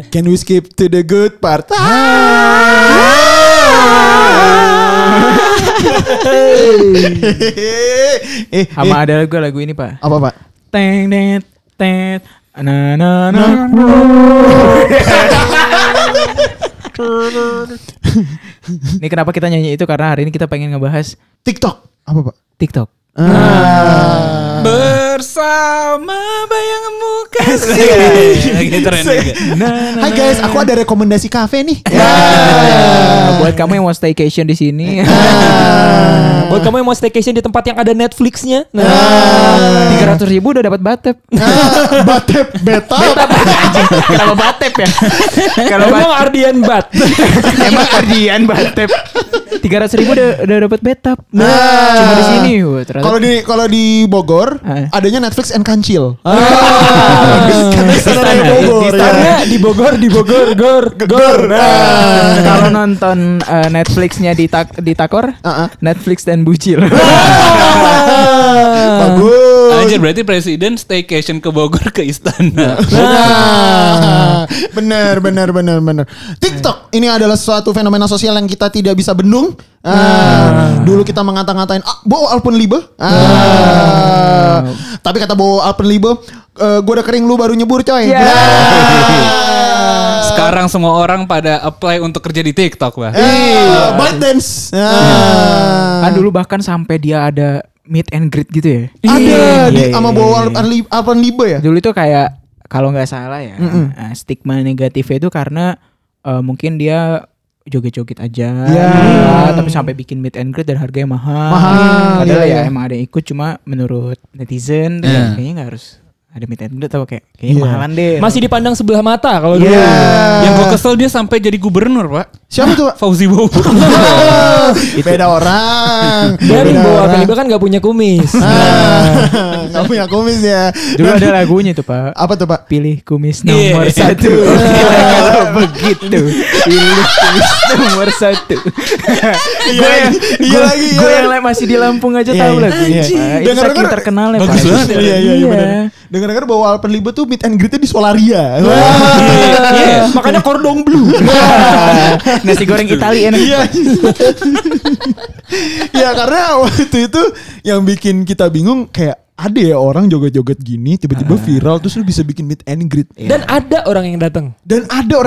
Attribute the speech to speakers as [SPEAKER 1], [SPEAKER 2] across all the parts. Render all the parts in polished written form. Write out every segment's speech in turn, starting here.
[SPEAKER 1] Can we skip to the good part?
[SPEAKER 2] Sama ada lagu ini Pak.
[SPEAKER 1] Apa Pak?
[SPEAKER 2] Teng net tet na na na. Ini kenapa kita nyanyi itu karena hari ini kita pengen ngebahas
[SPEAKER 1] TikTok. Apa Pak?
[SPEAKER 2] TikTok.
[SPEAKER 3] Bersama bayangmu kasih. Gitu keren juga.
[SPEAKER 1] Hai guys, aku ada rekomendasi kafe nih.
[SPEAKER 2] Buat kamu yang mau staycation di sini.
[SPEAKER 4] Buat kamu yang mau staycation di tempat yang ada Netflixnya.
[SPEAKER 2] 300.000 udah dapat batep.
[SPEAKER 1] Batep beta.
[SPEAKER 2] Kalau batep ya. Kalau
[SPEAKER 4] Emang Ardian Bat.
[SPEAKER 2] emang Ardian batep. 300.000 udah dapat betap. Cuma di sini. Wah, ternyata.
[SPEAKER 1] Kalau di Bogor adanya Netflix and Kancil.
[SPEAKER 4] Karena di Bogor, Gor.
[SPEAKER 2] Kalau nonton Netflixnya di Takor, Netflix dan Bucil.
[SPEAKER 1] Bagus.
[SPEAKER 3] Anjir, berarti presiden staycation ke Bogor ke istana.
[SPEAKER 1] Benar. TikTok ini adalah suatu fenomena sosial yang kita tidak bisa bendung. Dulu kita mengata-ngatain Bo Alpenliebe. Tapi kata Bo Alpenliebe, gue udah kering lu baru nyebur coy.
[SPEAKER 3] Sekarang semua orang pada apply untuk kerja di TikTok, Pak.
[SPEAKER 1] ByteDance.
[SPEAKER 2] Kan dulu bahkan sampai dia ada meet and greet gitu ya.
[SPEAKER 1] Ada sama Bo Alpenliebe ya.
[SPEAKER 2] Dulu itu kayak kalau nggak salah ya, stigma negatifnya itu karena mungkin dia joget-joget aja, tapi sampai bikin meet and greet dan harganya mahal. Padahal ya emang ada yang ikut, cuma menurut netizen kayaknya nggak harus ada meet and greet atau kayaknya mahalan deh.
[SPEAKER 4] Masih dipandang sebelah mata kalau dulu.
[SPEAKER 3] Yang gue kesel dia sampai jadi gubernur, Pak.
[SPEAKER 1] Siapa tuh Pak?
[SPEAKER 3] Fauzi Bowo.
[SPEAKER 1] Beda orang.
[SPEAKER 4] Dari Bo Alpenliebe kan gak punya kumis.
[SPEAKER 1] Gak punya kumis ya.
[SPEAKER 2] Dulu ada lagunya tuh Pak.
[SPEAKER 1] Apa tuh Pak?
[SPEAKER 2] Pilih kumis nomor 1. Kalau begitu, pilih kumis nomor 1. Gue yang masih di Lampung aja tahu lagunya. Itu saking terkenal ya Pak.
[SPEAKER 3] Bagus banget.
[SPEAKER 1] Iya. Dengar-dengar bahwa Alpenliebe tuh meet and greet-nya di Solaria.
[SPEAKER 4] Makanya Cordon Bleu.
[SPEAKER 2] Nasi goreng Itali enak.
[SPEAKER 1] Ya karena waktu itu yang bikin kita bingung kayak ada ya orang joget-joget gini tiba-tiba viral terus lu bisa bikin meet and greet.
[SPEAKER 4] Dan ada orang yang datang.
[SPEAKER 1] Dan itu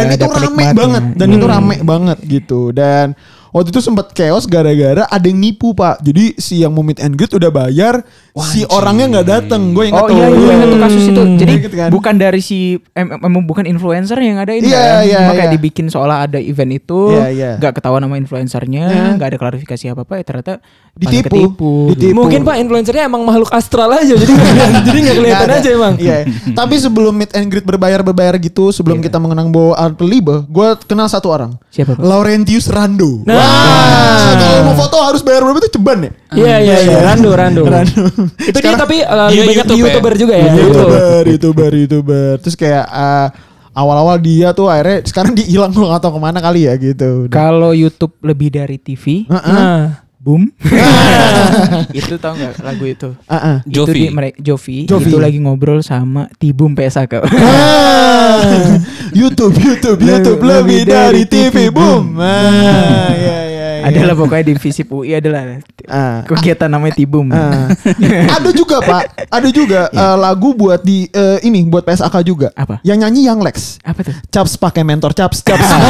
[SPEAKER 1] rame banget gitu. Dan waktu itu sempat chaos gara-gara ada yang nipu Pak. Jadi si yang mau meet and greet udah bayar, si orangnya nggak datang. Gue ingat
[SPEAKER 2] gue ingat tuh kasus itu. Jadi
[SPEAKER 1] kan?
[SPEAKER 2] bukan dari si bukan influencer yang ada ini kayak dibikin seolah ada event itu, nggak ketahuan nama influencernya, nggak ada klarifikasi apa ya ternyata
[SPEAKER 1] ditipu.
[SPEAKER 4] Mungkin Pak influencernya emang makhluk astral aja jadi nggak kelihatan aja emang.
[SPEAKER 1] Iya. Tapi sebelum meet and greet berbayar gitu, sebelum kita mengenang Bo Alpenliebe, gue kenal satu orang.
[SPEAKER 2] Siapa Pak?
[SPEAKER 1] Laurentius Rando. Kalau mau foto harus bayar berapa itu ceban ya?
[SPEAKER 4] Iya. Rando. Itu dia tapi lebih banyak YouTuber juga ya.
[SPEAKER 1] YouTuber. Terus kayak awal-awal dia tuh akhirnya sekarang dia hilang, gue gak tau kemana kali ya gitu.
[SPEAKER 2] Kalau YouTube lebih dari TV, boom. Itu tau gak lagu itu? Jovi. Itu lagi ngobrol sama Tibum PSAK.
[SPEAKER 1] YouTube lebih dari TV, boom.
[SPEAKER 2] Adalah pokoknya di Visip UI adalah kegiatan namanya Tibum.
[SPEAKER 1] Ada juga Pak, lagu buat di ini buat PSAK juga.
[SPEAKER 2] Apa?
[SPEAKER 1] Yang nyanyi Yang Lex.
[SPEAKER 2] Apa tuh?
[SPEAKER 1] Caps pakai mentor caps.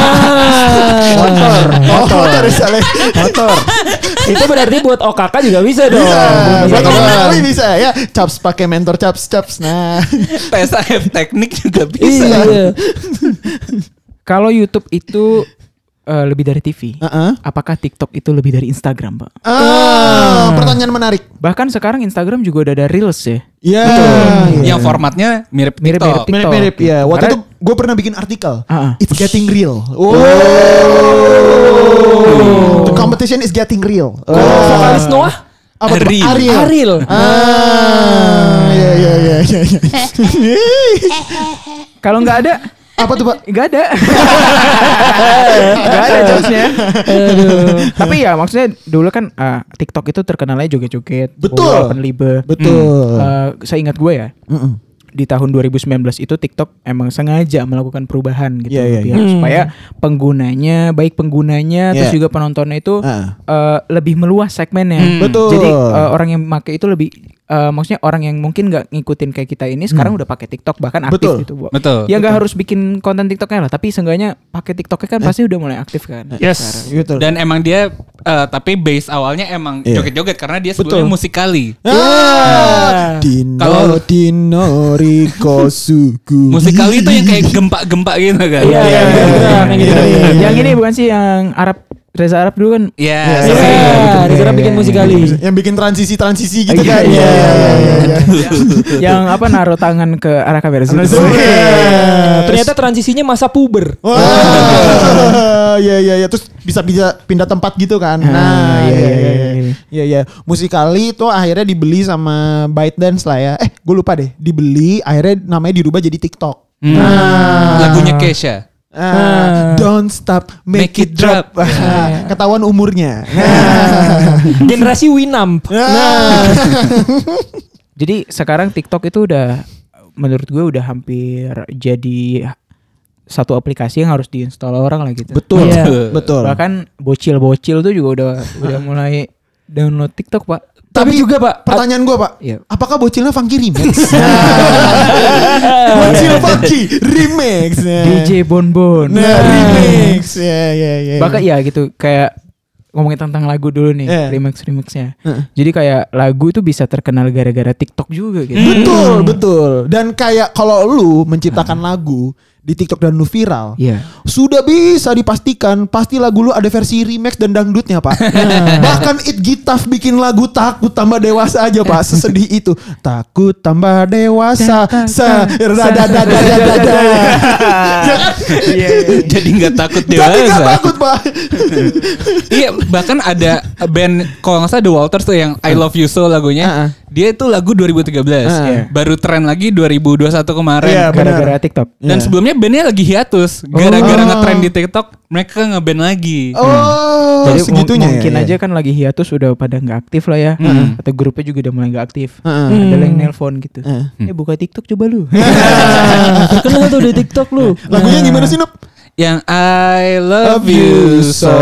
[SPEAKER 4] Motor. Itu berarti buat OKK juga bisa dong.
[SPEAKER 1] Buat OKK bisa ya. Caps pakai mentor caps. Nah,
[SPEAKER 3] PSAF teknik juga bisa.
[SPEAKER 4] Iya.
[SPEAKER 2] Kalau YouTube itu lebih dari TV, apakah TikTok itu lebih dari Instagram, Pak?
[SPEAKER 1] Pertanyaan menarik.
[SPEAKER 2] Bahkan sekarang Instagram juga udah ada Reels ya.
[SPEAKER 1] Iya.
[SPEAKER 3] Yang formatnya mirip TikTok.
[SPEAKER 1] Mirip ya. Waktu itu gue pernah bikin artikel. It's getting real. The competition is getting real.
[SPEAKER 4] Vokalis Noah?
[SPEAKER 1] Apa tuh?
[SPEAKER 4] Ariel.
[SPEAKER 1] Iya.
[SPEAKER 2] Kalau nggak ada,
[SPEAKER 1] apa tuh Pak?
[SPEAKER 2] Nggak ada. Nggak ada jokesnya. Tapi ya maksudnya dulu kan TikTok itu terkenalnya joget-joget.
[SPEAKER 1] Betul.
[SPEAKER 2] Alpenliebe.
[SPEAKER 1] Betul.
[SPEAKER 2] Saya ingat gue ya. di tahun 2019 itu TikTok emang sengaja melakukan perubahan gitu
[SPEAKER 1] Iya,
[SPEAKER 2] biar supaya penggunanya baik penggunanya terus juga penontonnya itu lebih meluas segmennya.
[SPEAKER 1] Betul.
[SPEAKER 2] Jadi orang yang pakai itu lebih maksudnya orang yang mungkin nggak ngikutin kayak kita ini sekarang udah pakai TikTok bahkan aktif
[SPEAKER 1] Betul.
[SPEAKER 2] gitu.
[SPEAKER 3] Betul.
[SPEAKER 2] Ya nggak harus bikin konten TikToknya lah, tapi seenggaknya pakai TikToknya kan pasti udah mulai aktif kan.
[SPEAKER 3] Yes.
[SPEAKER 1] Betul.
[SPEAKER 3] Dan emang dia tapi base awalnya emang joget-joget karena dia sebelumnya
[SPEAKER 1] Betul.
[SPEAKER 3] musikali.
[SPEAKER 1] Dino Dino Riko Suku.
[SPEAKER 3] Musikali itu yang kayak gempa-gempa gitu kan.
[SPEAKER 4] Iya.
[SPEAKER 2] Yang ini bukan sih yang Reza Arab dulu kan?
[SPEAKER 3] Iya.
[SPEAKER 4] Disuruh bikin musikali.
[SPEAKER 1] Yang bikin transisi gitu kan.
[SPEAKER 2] Iya.
[SPEAKER 1] Iya.
[SPEAKER 2] Yang apa naruh tangan ke arah kamera sih.
[SPEAKER 4] Ternyata transisinya masa puber.
[SPEAKER 1] Wah, iya. Terus bisa pindah tempat gitu kan. Nah, iya. Musikali itu akhirnya dibeli sama ByteDance lah ya. Gue lupa deh. Dibeli, akhirnya namanya dirubah jadi TikTok.
[SPEAKER 3] Lagunya Kesha.
[SPEAKER 1] Don't stop, make it drop. Ketahuan umurnya.
[SPEAKER 4] Generasi Winamp.
[SPEAKER 2] Jadi sekarang TikTok itu udah menurut gue udah hampir jadi satu aplikasi yang harus diinstal orang lah gitu.
[SPEAKER 1] Betul,
[SPEAKER 4] Iya.
[SPEAKER 1] betul.
[SPEAKER 2] Bahkan bocil-bocil tuh juga udah mulai download TikTok, Pak.
[SPEAKER 1] Tapi
[SPEAKER 4] juga Pak,
[SPEAKER 1] pertanyaan gue Pak,
[SPEAKER 2] Iya.
[SPEAKER 1] apakah bocilnya Funky Remix? Bocil Funky Remix.
[SPEAKER 2] DJ Bonbon.
[SPEAKER 1] Nah, remix. Ya.
[SPEAKER 2] Bahkan ya gitu kayak ngomongin tentang lagu dulu nih, remix-remixnya. Jadi kayak lagu itu bisa terkenal gara-gara TikTok juga gitu.
[SPEAKER 1] Betul. Dan kayak kalau lu menciptakan lagu di TikTok dan lu viral, sudah bisa dipastikan pasti lagu lu ada versi remix dan dangdutnya, Pak. Bahkan It Gitaf bikin lagu Takut Tambah Dewasa aja, Pak. Sesedih itu. Takut tambah dewasa.
[SPEAKER 3] Jadi nggak takut
[SPEAKER 1] Jadi nggak
[SPEAKER 3] dewasa.
[SPEAKER 1] takut, Pak.
[SPEAKER 3] Iya, bahkan ada band kalau nggak salah The Walters tuh yang I Love You So lagunya. Dia itu lagu 2013. Baru tren lagi 2021 kemarin.
[SPEAKER 1] Iya,
[SPEAKER 2] Gara-gara TikTok.
[SPEAKER 3] Dan sebelumnya bandnya lagi hiatus. Gara-gara ngetrend di TikTok, mereka ngeband lagi.
[SPEAKER 2] Jadi
[SPEAKER 1] segitunya
[SPEAKER 2] mungkin
[SPEAKER 1] ya.
[SPEAKER 2] aja kan lagi hiatus udah pada nggak aktif lah ya. Atau grupnya juga udah mulai nggak aktif. Ada yang nelpon gitu. Buka TikTok coba lu.
[SPEAKER 4] Terkenal tuh di TikTok lu.
[SPEAKER 1] Lagunya gimana sih, Nup?
[SPEAKER 3] Yang I Love You So.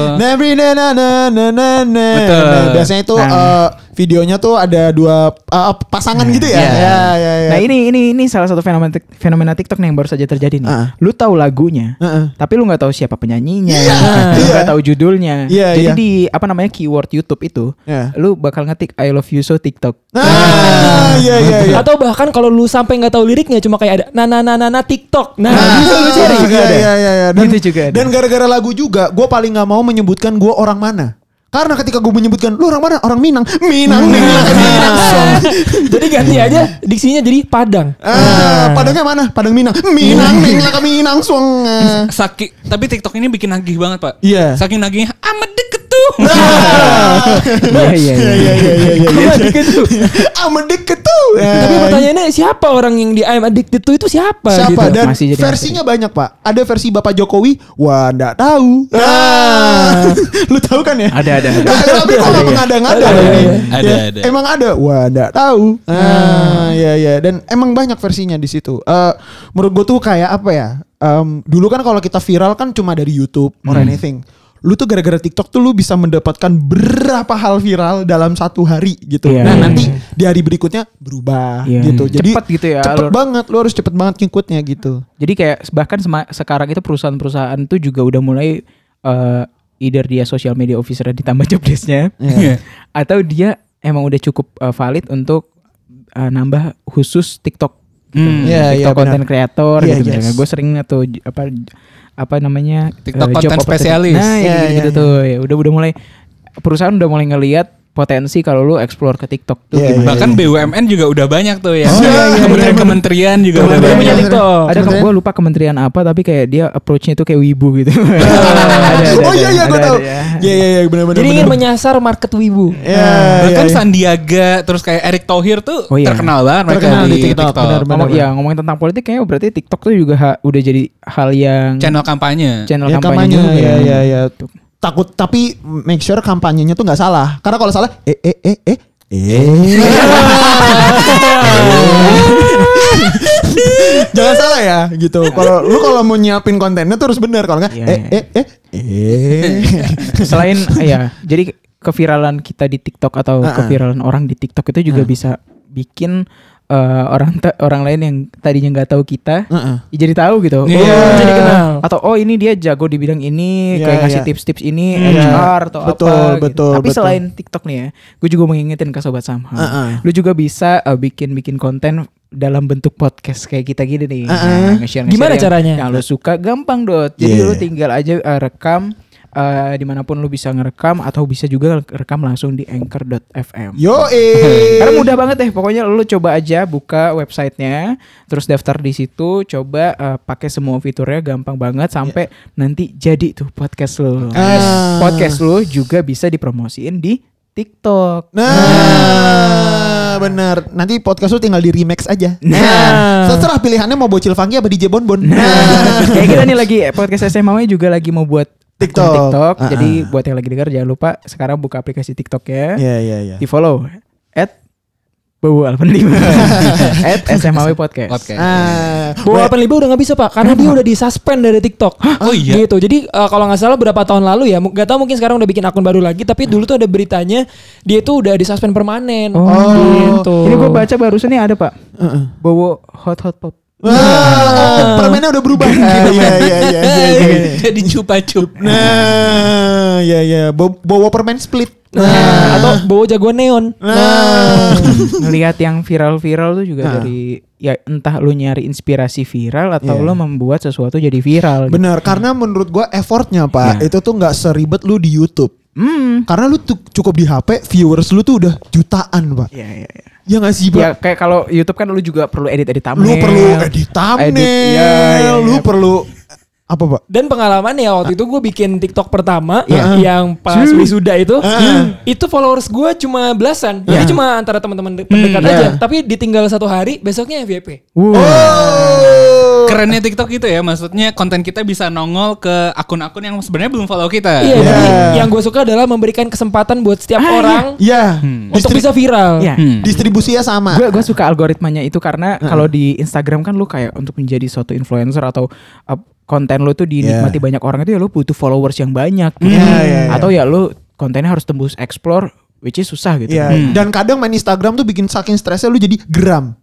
[SPEAKER 3] Betul.
[SPEAKER 1] Biasanya itu videonya tuh ada dua pasangan gitu ya. Ya.
[SPEAKER 2] Nah ini salah satu fenomena TikTok nih yang baru saja terjadi nih. Lu tahu lagunya, tapi lu nggak tahu siapa penyanyinya, lu nggak tahu judulnya. Jadi di apa namanya keyword YouTube itu, lu bakal ngetik I Love You So TikTok.
[SPEAKER 1] Iya.
[SPEAKER 4] Atau bahkan kalau lu sampai nggak tahu liriknya cuma kayak ada na TikTok. Nah, bisa lu cari.
[SPEAKER 1] Iya.
[SPEAKER 2] Gitu juga ada.
[SPEAKER 1] Dan gara-gara lagu juga, gue paling nggak mau menyebutkan gue orang mana. Karena ketika gue menyebutkan lu orang mana, orang Minang. Minang.
[SPEAKER 4] Jadi ganti aja diksinya jadi Padang.
[SPEAKER 1] Padangnya mana? Padang Minang. Minang Song.
[SPEAKER 3] Tapi TikTok ini bikin nagih banget, Pak.
[SPEAKER 1] Iya.
[SPEAKER 3] Saking nagihnya amat deket tuh.
[SPEAKER 2] Iya.
[SPEAKER 1] Amat deket tuh.
[SPEAKER 4] Tapi pertanyaannya siapa orang yang di I'm Addicted to itu siapa?
[SPEAKER 1] Siapa?
[SPEAKER 4] Gitu.
[SPEAKER 1] Dan
[SPEAKER 2] Masih jadi
[SPEAKER 1] versinya banyak, Pak. Ada versi Bapak Jokowi. Wah, nggak tahu. Lu tahu kan ya?
[SPEAKER 2] Ada.
[SPEAKER 1] Tapi kok nggak mengada-ngada ini?
[SPEAKER 3] Ada.
[SPEAKER 1] Emang ada. Wah, nggak tahu. Iya. Dan emang banyak versinya di situ. Menurut gue tuh kayak apa ya? Dulu kan kalau kita viral kan cuma dari YouTube or anything. Lu tuh gara-gara TikTok tuh lu bisa mendapatkan berapa hal viral dalam satu hari gitu.
[SPEAKER 2] Iya.
[SPEAKER 1] Nah nanti di hari berikutnya berubah gitu. Jadi
[SPEAKER 2] Cepet gitu ya.
[SPEAKER 1] cepet banget. Lu harus cepet banget ngikutnya gitu.
[SPEAKER 2] Jadi kayak bahkan sekarang itu perusahaan-perusahaan tuh juga udah mulai either dia social media officer ditambah job desk-nya atau dia emang udah cukup valid untuk nambah khusus TikTok. TikTok content creator gitu. Gue sering tuh apa namanya
[SPEAKER 3] TikTok
[SPEAKER 2] job
[SPEAKER 3] content
[SPEAKER 2] opportunity.
[SPEAKER 3] spesialis.
[SPEAKER 2] Nah, gitu tuh. Ya, udah mulai perusahaan udah mulai ngelihat potensi kalau lu explore ke TikTok tuh gimana.
[SPEAKER 3] Bahkan BUMN juga udah banyak tuh ya. Kementerian juga udah
[SPEAKER 4] Kementerian
[SPEAKER 3] banyak.
[SPEAKER 4] TikTok.
[SPEAKER 2] Ada gue lupa kementerian apa tapi kayak dia approach-nya tuh kayak wibu gitu.
[SPEAKER 1] Oh iya gue tahu. Iya benar-benar.
[SPEAKER 4] Jadi ingin menyasar market wibu.
[SPEAKER 3] Bahkan Sandiaga terus kayak Erick Thohir tuh terkenal banget mereka
[SPEAKER 1] Terkenal
[SPEAKER 3] di
[SPEAKER 1] di TikTok,
[SPEAKER 3] TikTok.
[SPEAKER 1] benar.
[SPEAKER 2] Ngomongin tentang politik kayaknya berarti TikTok tuh juga udah jadi hal yang
[SPEAKER 3] Channel kampanye.
[SPEAKER 2] kampanye juga.
[SPEAKER 1] Iya. Takut tapi make sure kampanyenya tuh nggak salah. Karena kalau salah Jangan salah ya gitu. Kalau mau nyiapin kontennya tuh harus bener. Kalau enggak
[SPEAKER 2] Selain ya, jadi keviralan kita di TikTok atau keviralan orang di TikTok itu juga bisa bikin orang lain yang tadinya nggak tahu kita jadi tahu gitu.
[SPEAKER 4] Jadi kenal.
[SPEAKER 2] Atau ini dia jago di bidang ini, kayak ngasih tips-tips ini HR atau apa.
[SPEAKER 1] Betul.
[SPEAKER 2] Tapi selain TikTok nih ya, gue juga mengingetin ke sobat Samha. Lu juga bisa bikin konten dalam bentuk podcast kayak kita gini nih. Nge-share
[SPEAKER 4] Gimana caranya?
[SPEAKER 2] Yang lu suka gampang Dot. Jadi lu tinggal aja rekam dimanapun lu bisa ngerekam atau bisa juga rekam langsung di anchor.fm. Karena mudah banget deh, pokoknya lu coba aja buka websitenya, terus daftar di situ, coba pakai semua fiturnya, gampang banget sampai nanti jadi tuh podcast lu. Podcast lu juga bisa dipromosiin di TikTok.
[SPEAKER 1] Benar. Nanti podcast lu tinggal di remix aja. Setelah pilihannya mau bocil funky apa DJ Bonbon.
[SPEAKER 2] Kayak kita nih lagi podcast SMA juga lagi mau buat TikTok. Jadi buat yang lagi dengar jangan lupa sekarang buka aplikasi TikTok ya.
[SPEAKER 1] Iya.
[SPEAKER 2] Di follow @bowo85 @SMAW Podcast.
[SPEAKER 4] Bowo85 udah nggak bisa Pak, karena dia udah disuspend dari TikTok.
[SPEAKER 3] Oh iya.
[SPEAKER 4] Gitu. Jadi kalau nggak salah berapa tahun lalu ya, nggak tahu mungkin sekarang udah bikin akun baru lagi. Tapi dulu tuh ada beritanya dia tuh udah disuspend permanen.
[SPEAKER 2] Gitu. Ini gue baca barusan nih ada Pak. Bowo hot pop.
[SPEAKER 1] Permennya udah berubah. Iya.
[SPEAKER 3] Jadi cupa-cup.
[SPEAKER 1] Iya. Bawa permen split.
[SPEAKER 4] Atau bawa jagoan neon.
[SPEAKER 2] Ngelihat yang viral-viral tuh juga dari ya entah lu nyari inspirasi viral atau lu membuat sesuatu jadi viral.
[SPEAKER 1] Benar, karena menurut gua effortnya Pak itu tuh nggak seribet lu di YouTube. Karena lu tuh cukup di HP, viewers lu tuh udah jutaan Pak.
[SPEAKER 2] Iya.
[SPEAKER 1] Ya nggak sih Pak?
[SPEAKER 2] Ya kayak kalau YouTube kan lu juga perlu edit thumbnail.
[SPEAKER 1] Lu perlu edit thumbnail. Lu perlu apa Pak?
[SPEAKER 4] Dan pengalaman ya waktu itu gue bikin TikTok pertama yang pas wisuda itu followers gue cuma belasan. Jadi cuma antara teman-teman terdekat aja. Tapi ditinggal 1 hari, besoknya FYP.
[SPEAKER 3] Kerennya TikTok itu ya, maksudnya konten kita bisa nongol ke akun-akun yang sebenarnya belum follow kita.
[SPEAKER 4] Iya, jadi yang gue suka adalah memberikan kesempatan buat setiap orang untuk bisa viral.
[SPEAKER 1] Distribusinya sama.
[SPEAKER 2] Gue suka algoritmanya itu karena kalau di Instagram kan lu kayak untuk menjadi suatu influencer atau konten lu tuh dinikmati banyak orang itu ya lu butuh followers yang banyak. Atau ya lu kontennya harus tembus explore, which is susah gitu.
[SPEAKER 1] Dan kadang main Instagram tuh bikin saking stresnya lu jadi gram.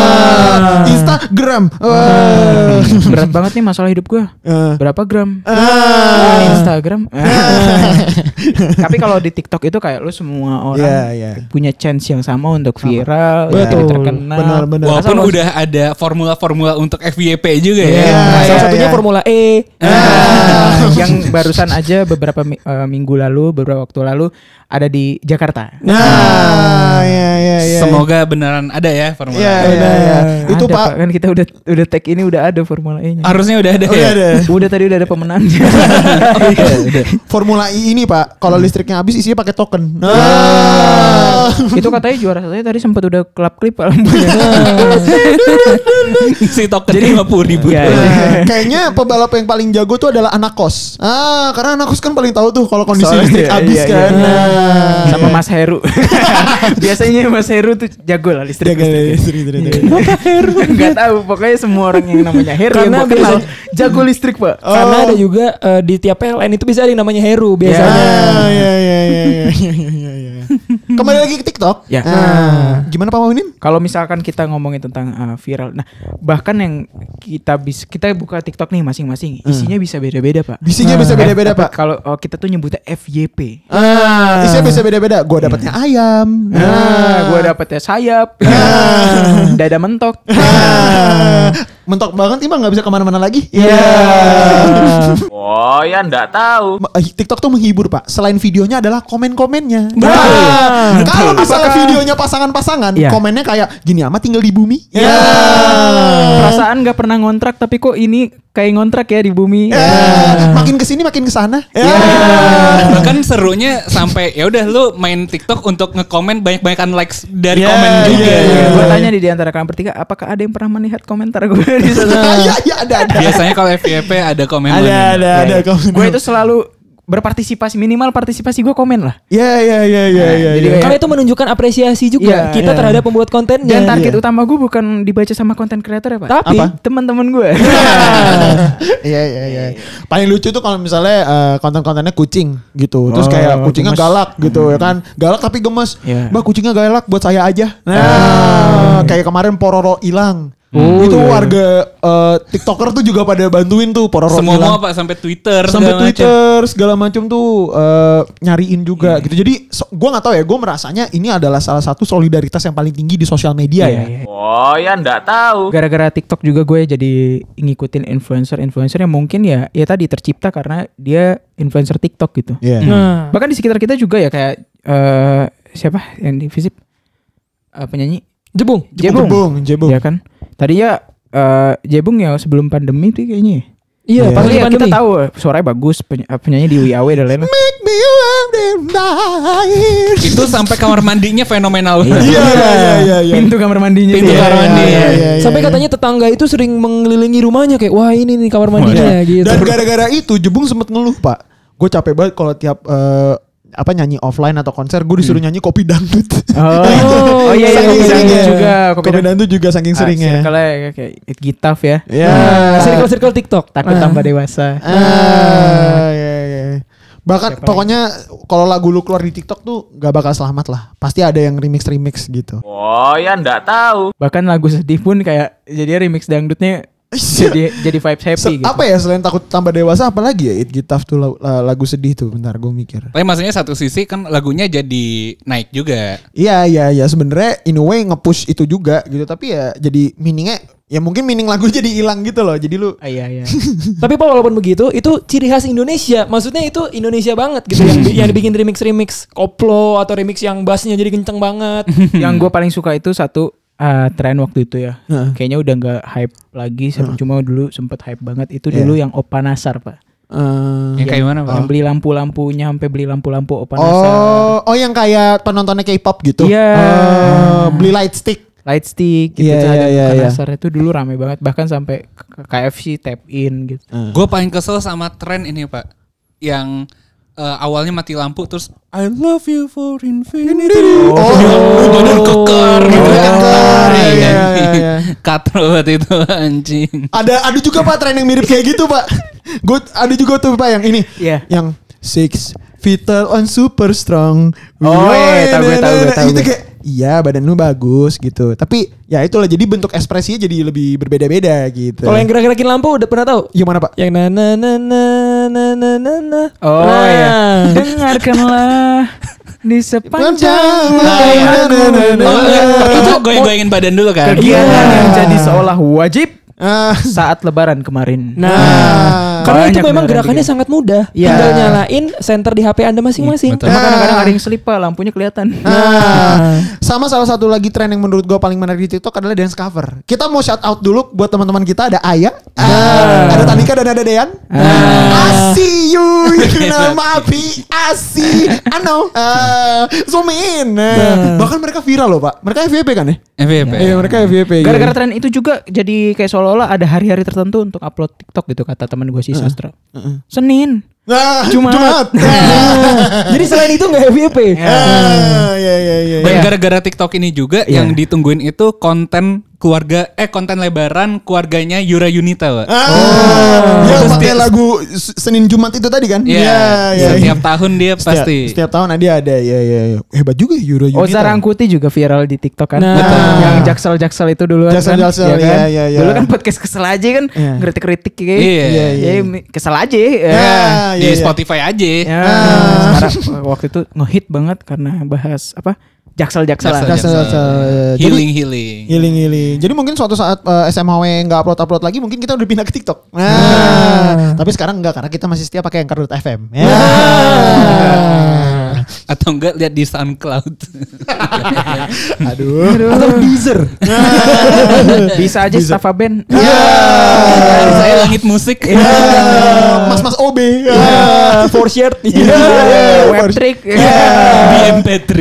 [SPEAKER 1] Instagram.
[SPEAKER 2] Berat banget nih masalah hidup gue. Berapa gram? Instagram. Tapi kalau di TikTok itu kayak lu semua orang punya chance yang sama untuk viral, jadi terkenal.
[SPEAKER 1] Benar.
[SPEAKER 3] Walaupun udah ada formula-formula untuk FYP juga ya.
[SPEAKER 4] Salah satunya Formula E.
[SPEAKER 2] Yang barusan aja beberapa minggu lalu, beberapa waktu lalu ada di Jakarta.
[SPEAKER 3] Semoga beneran ada ya Formula E.
[SPEAKER 1] Itu
[SPEAKER 2] ada,
[SPEAKER 1] Pak.
[SPEAKER 2] Kan kita udah tag ini udah ada Formula E-nya.
[SPEAKER 3] Harusnya udah ada ya.
[SPEAKER 2] Udah tadi udah ada pemenangnya.
[SPEAKER 1] Formula E ini Pak, kalau listriknya habis isinya pakai token.
[SPEAKER 2] Itu katanya juara satunya tadi sempat udah klip
[SPEAKER 3] Si token jadi 50.000.
[SPEAKER 1] Kayaknya pebalap yang paling jago tuh adalah anak kos. Karena anak kos kan paling tahu tuh kalau kondisi listrik habis kan.
[SPEAKER 2] Sama Mas Heru. Biasanya Mas Heru tuh jago lah listrik. Heru. Gak tahu, pokoknya semua orang yang namanya Heru
[SPEAKER 4] karena
[SPEAKER 2] yang kenal jago listrik Pak.
[SPEAKER 4] Karena ada juga di tiap PLN itu bisa ada yang namanya Heru biasanya.
[SPEAKER 1] Kembali lagi ke TikTok. Gimana Pak Maunin?
[SPEAKER 2] Kalau misalkan kita ngomongin tentang viral, nah bahkan yang kita buka TikTok nih masing-masing, isinya bisa beda-beda Pak.
[SPEAKER 1] Isinya bisa beda-beda Pak.
[SPEAKER 2] Kalau kita tuh nyebutnya FYP.
[SPEAKER 1] Isinya bisa beda-beda. Gua dapatnya ayam.
[SPEAKER 2] Gua dapatnya sayap. Dada mentok.
[SPEAKER 1] Mentok banget Bang, nggak bisa kemana-mana lagi.
[SPEAKER 5] Oh ya nggak tahu.
[SPEAKER 1] TikTok tuh menghibur Pak. Selain videonya adalah komen-komennya.
[SPEAKER 2] Betul.
[SPEAKER 1] Kalau misalnya videonya pasangan-pasangan, komennya kayak gini amat tinggal di bumi.
[SPEAKER 2] Perasaan nggak pernah ngontrak tapi kok ini kayak ngontrak ya di bumi.
[SPEAKER 1] Makin kesini makin kesana.
[SPEAKER 3] Bahkan serunya sampai ya udah lu main TikTok untuk ngekomen banyak-banyakan likes dari komen juga.
[SPEAKER 2] Gue tanya di antara kalian bertiga, apakah ada yang pernah melihat komentar gue di sana?
[SPEAKER 1] Ada.
[SPEAKER 3] Biasanya kalau FYP ada komen.
[SPEAKER 1] Ada komen.
[SPEAKER 2] Gue itu selalu berpartisipasi, minimal partisipasi gue komen lah.
[SPEAKER 1] Iya.
[SPEAKER 4] Jadi karena itu menunjukkan apresiasi juga kita terhadap pembuat kontennya.
[SPEAKER 2] Dan target utama gue bukan dibaca sama konten kreator ya Pak.
[SPEAKER 4] Tapi
[SPEAKER 2] teman-teman gue.
[SPEAKER 1] Iya. Paling lucu tuh kalau misalnya konten-kontennya kucing gitu. Terus kayak kucingnya
[SPEAKER 2] gemes.
[SPEAKER 1] galak gitu ya kan. Galak tapi gemes.
[SPEAKER 2] Iya.
[SPEAKER 1] Mbak kucingnya galak buat saya aja. Nah, kayak kemarin Pororo hilang. Itu warga TikToker tuh juga pada bantuin tuh Pororo
[SPEAKER 3] Semua Pak sampai Twitter
[SPEAKER 1] segala macam tuh nyariin juga gitu. Jadi gue nggak tahu ya, gue merasanya ini adalah salah satu solidaritas yang paling tinggi di sosial media ya.
[SPEAKER 5] Oh ya nggak tahu.
[SPEAKER 2] Gara-gara TikTok juga gue jadi ngikutin influencer yang mungkin ya tadi tercipta karena dia influencer TikTok gitu. Bahkan di sekitar kita juga ya kayak siapa yang di Visip penyanyi
[SPEAKER 1] Jebung.
[SPEAKER 2] Ya kan. Tadinya Jebung ya sebelum pandemi tuh kayaknya.
[SPEAKER 4] Iya, pas
[SPEAKER 2] ya,
[SPEAKER 4] pandemi.
[SPEAKER 2] kita tahu suaranya bagus, penyanyi di WIAW dan lain-lain.
[SPEAKER 1] Make me
[SPEAKER 3] Itu sampai kamar mandinya fenomenal.
[SPEAKER 1] Iya.
[SPEAKER 2] Pintu kamar mandinya.
[SPEAKER 3] Kamar mandi.
[SPEAKER 4] Sampai katanya tetangga itu sering mengelilingi rumahnya kayak wah ini nih kamar mandinya gitu.
[SPEAKER 1] Dan gara-gara itu Jebung sempet ngeluh Pak. Gue capek banget kalau tiap nyanyi offline atau konser gue disuruh nyanyi kopi dangdut.
[SPEAKER 2] Oh iya
[SPEAKER 1] Saking
[SPEAKER 2] kopi
[SPEAKER 1] seringnya.
[SPEAKER 2] dangdut juga.
[SPEAKER 1] Kopi dangdut juga saking seringnya.
[SPEAKER 2] Circle-nya kayak It Gitaf ya.
[SPEAKER 1] Iya.
[SPEAKER 4] Circle TikTok.
[SPEAKER 2] Takut tambah dewasa.
[SPEAKER 1] Iya. Bahkan pokoknya kalau lagu lu keluar di TikTok tuh gak bakal selamat lah. Pasti ada yang remix gitu.
[SPEAKER 5] Oh ya nggak tahu.
[SPEAKER 2] Bahkan lagu sedih pun kayak jadi remix dangdutnya jadi vibes happy gitu.
[SPEAKER 1] Apa ya selain takut tambah dewasa apalagi ya It Gitaf tuh lagu sedih tuh. Bentar gue mikir.
[SPEAKER 3] Tapi maksudnya satu sisi kan lagunya jadi naik juga.
[SPEAKER 1] Iya sebenarnya in a way nge-push itu juga gitu. Tapi ya jadi meaningnya ya mungkin meaning lagu jadi hilang gitu loh. Jadi lu
[SPEAKER 2] Iya.
[SPEAKER 4] Tapi Pak walaupun begitu itu ciri khas Indonesia. Maksudnya itu Indonesia banget gitu yang dibikin remix koplo atau remix yang bassnya jadi kenceng banget.
[SPEAKER 2] Yang gue paling suka itu satu tren waktu itu ya. Kayaknya udah gak hype lagi. Cuma dulu sempet hype banget. Itu dulu yang Opa Nasar Pak.
[SPEAKER 3] Yang kayak mana Pak?
[SPEAKER 2] Yang beli lampu-lampunya sampai beli lampu-lampu Opa Nasar.
[SPEAKER 1] Oh yang kayak penontonnya K-pop gitu.
[SPEAKER 2] Iya.
[SPEAKER 1] Beli light stick.
[SPEAKER 2] Lightstick gitu.
[SPEAKER 1] Iya.
[SPEAKER 2] Nasar itu dulu rame banget. Bahkan sampai KFC tap in gitu.
[SPEAKER 3] Gue paling kesel sama tren ini Pak. Yang awalnya mati lampu terus I love you for infinity. Bener keker gitu kan.
[SPEAKER 1] Iya.
[SPEAKER 3] Katro banget itu anjing.
[SPEAKER 1] Ada juga Pak tren yang mirip kayak gitu Pak. Gue ada juga tuh Pak yang ini.
[SPEAKER 2] Iya.
[SPEAKER 1] Yang 6 vital on super strong.
[SPEAKER 2] Oh iya, tahu
[SPEAKER 1] Itu
[SPEAKER 2] gue.
[SPEAKER 1] kayak iya badan lu bagus gitu. Tapi ya itulah jadi bentuk ekspresinya jadi lebih berbeda-beda gitu.
[SPEAKER 4] Kalau yang gerak-gerakin lampu udah pernah tahu?
[SPEAKER 1] Yang mana Pak?
[SPEAKER 4] Yang na.
[SPEAKER 2] Oh
[SPEAKER 4] Nah.
[SPEAKER 2] iya. Dengarkanlah di sepanjang
[SPEAKER 3] Itu goyang-goyangin badan dulu kan.
[SPEAKER 2] kegiatan yang jadi seolah wajib saat lebaran kemarin.
[SPEAKER 4] Karena itu
[SPEAKER 2] Banyak
[SPEAKER 4] memang
[SPEAKER 2] beneran
[SPEAKER 4] gerakannya
[SPEAKER 2] gitu.
[SPEAKER 4] sangat mudah.
[SPEAKER 2] Iya.
[SPEAKER 4] Tinggal nyalain senter di HP Anda masing-masing.
[SPEAKER 3] Betul.
[SPEAKER 2] Cuma kadang-kadang ada yang selip Pak, lampunya kelihatan.
[SPEAKER 1] Sama salah satu lagi tren yang menurut gue paling menarik di TikTok adalah dance cover. Kita mau shout out dulu buat teman-teman kita. Ada Aya, ada Tanika dan ada Dean. I see you, nama api, I see, I know, zoom in. Bahkan mereka viral loh Pak. Mereka FYP kan ya?
[SPEAKER 3] FYP.
[SPEAKER 1] Iya mereka FYP.
[SPEAKER 2] Gara-gara tren itu juga jadi kayak seolah-olah ada hari-hari tertentu untuk upload TikTok gitu kata teman gue si Sastra. Senin. Jumat.
[SPEAKER 4] Jadi selain itu nggak FYP.
[SPEAKER 1] Iya.
[SPEAKER 3] Dan gara-gara TikTok ini juga yang ditungguin itu konten konten lebaran keluarganya Yura Yunita, Pak.
[SPEAKER 1] Yang pakai lagu Senin Jumat itu tadi kan?
[SPEAKER 3] Iya. Setiap tahun dia pasti.
[SPEAKER 1] Setiap tahun dia ada. Iya. Hebat juga Yura Yunita.
[SPEAKER 2] Oza Rangkuti juga viral di TikTok kan.
[SPEAKER 4] Nah.
[SPEAKER 2] Yang Jaksel kan. Itu duluan
[SPEAKER 1] Jaksel,
[SPEAKER 2] kan. Ya kan?
[SPEAKER 1] iya.
[SPEAKER 2] Dulu kan podcast kesel aja kan. Kritik-kritik kayak.
[SPEAKER 3] Iya.
[SPEAKER 2] Ya, kesel aja.
[SPEAKER 3] Di Spotify aja.
[SPEAKER 2] Ya, sekarang waktu itu ngehit banget karena bahas apa? Jaksel.
[SPEAKER 3] Healing.
[SPEAKER 1] Jadi mungkin suatu saat SMHW nggak upload lagi, mungkin kita udah pindah ke TikTok. Tapi sekarang enggak karena kita masih setia pakai Anchor.fm.
[SPEAKER 3] Atau enggak lihat di SoundCloud.
[SPEAKER 1] Aduh. Atau Deezer.
[SPEAKER 2] Bisa aja Stafa Band.
[SPEAKER 3] Saya Langit Musik.
[SPEAKER 1] Mas OB.
[SPEAKER 4] For shared.
[SPEAKER 2] Webtrick.
[SPEAKER 3] BMP3.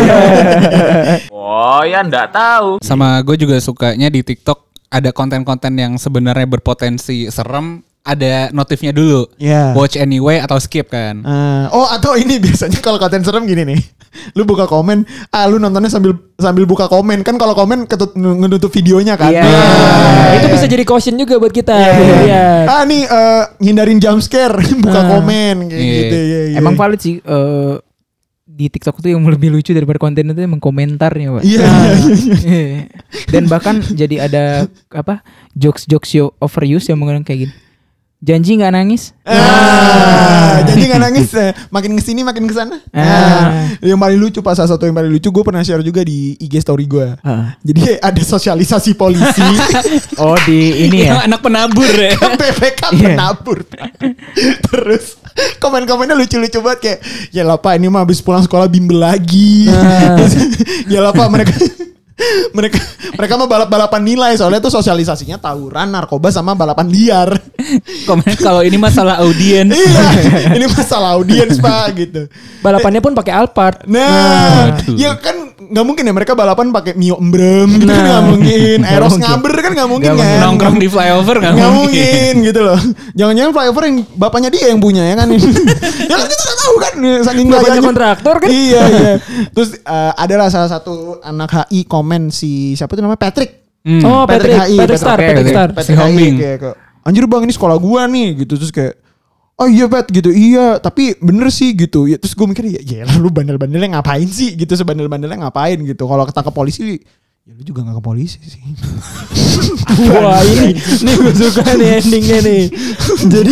[SPEAKER 5] Oh ya nggak tahu.
[SPEAKER 3] Sama gue juga sukanya di TikTok ada konten-konten yang sebenarnya berpotensi serem ada notifnya dulu. Watch anyway atau skip kan.
[SPEAKER 1] Atau ini biasanya kalau konten serem gini nih. Lu buka komen, lu nontonnya sambil buka komen. Kan kalau komen ngenutup videonya kan.
[SPEAKER 4] Itu bisa jadi caution juga buat kita.
[SPEAKER 1] Nih hindarin jump scare, buka komen kayak gitu.
[SPEAKER 2] Emang valid sih di TikTok itu yang lebih lucu daripada konten itu emang komentarnya, Pak. Dan bahkan jadi ada jokes overuse yang menggunakan kayak gini. Janji nggak nangis?
[SPEAKER 1] Janji nggak nangis. Makin kesini makin kesana. Yang paling lucu salah satu yang paling lucu gue pernah share juga di IG story gue. Jadi ada sosialisasi polisi.
[SPEAKER 2] Di ini ya.
[SPEAKER 3] Anak penabur ya.
[SPEAKER 1] PPK penabur. Terus komen-komennya lucu-lucu banget kayak, ya lah Pak ini mah habis pulang sekolah bimbel lagi. Ya lah Pak mereka mah balap-balapan nilai soalnya tuh sosialisasinya tawuran, narkoba sama balapan liar.
[SPEAKER 3] Komen kalau ini masalah audiens.
[SPEAKER 1] Ini masalah audiens Pak gitu.
[SPEAKER 4] Balapannya pun pakai Alphard.
[SPEAKER 1] Ya kan nggak mungkin ya mereka balapan pakai Mio Embrem gitu kan nggak mungkin. Eros ngaber kan nggak mungkin kan.
[SPEAKER 3] Nongkrong di flyover nggak
[SPEAKER 1] mungkin gitu loh. Jangan-jangan flyover yang bapaknya dia yang punya ya kan. Ya kan kita nggak tahu kan saking
[SPEAKER 4] bapaknya kontraktor kan.
[SPEAKER 1] Iya. Terus adalah salah satu anak HI komen si siapa tuh namanya Patrick.
[SPEAKER 4] Patrick Star.
[SPEAKER 1] Patrick Homing. Anjir bang ini sekolah gua nih gitu. Terus kayak oh iya Pat gitu. Iya tapi bener sih gitu ya. Terus gue mikir ya lu bandel-bandelnya ngapain sih gitu. Sebandel-bandelnya ngapain gitu. Kalau ketangkep polisi ya lu juga gak ke polisi sih.
[SPEAKER 4] Wah ini gue suka nih endingnya nih. Jadi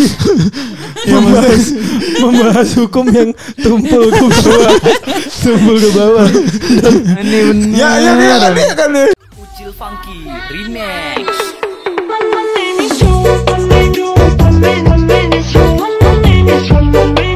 [SPEAKER 4] membahas hukum yang tumpul ke bawah.
[SPEAKER 2] Ini bener.
[SPEAKER 1] Ya kan.
[SPEAKER 5] Ucil Funky Remix.
[SPEAKER 6] One minute,